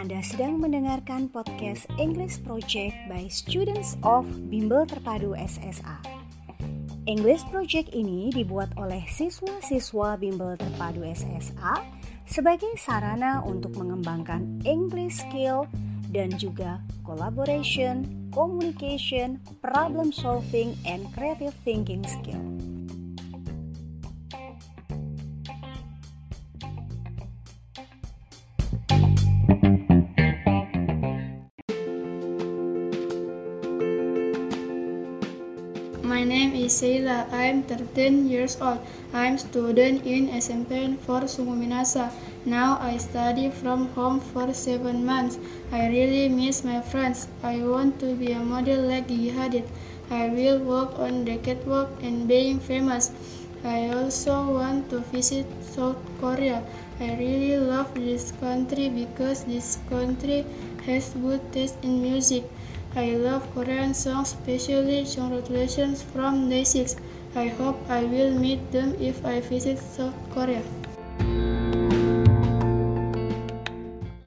Anda sedang mendengarkan podcast English Project by Students of Bimbel Terpadu SSA. English Project ini dibuat oleh siswa-siswa Bimbel Terpadu SSA sebagai sarana untuk mengembangkan English skill dan juga collaboration, communication, problem solving, and creative thinking skill. My name is Sheila. I am 13 years old. I am student in SMP 4 Sungu Minasa. Now I study from home for 7 months. I really miss my friends. I want to be a model like Gigi Hadid. I will work on the catwalk and being famous. I also want to visit South Korea. I really love this country because this country has good taste in music. I love Korean songs, especially congratulations from Day6. I hope I will meet them if I visit South Korea.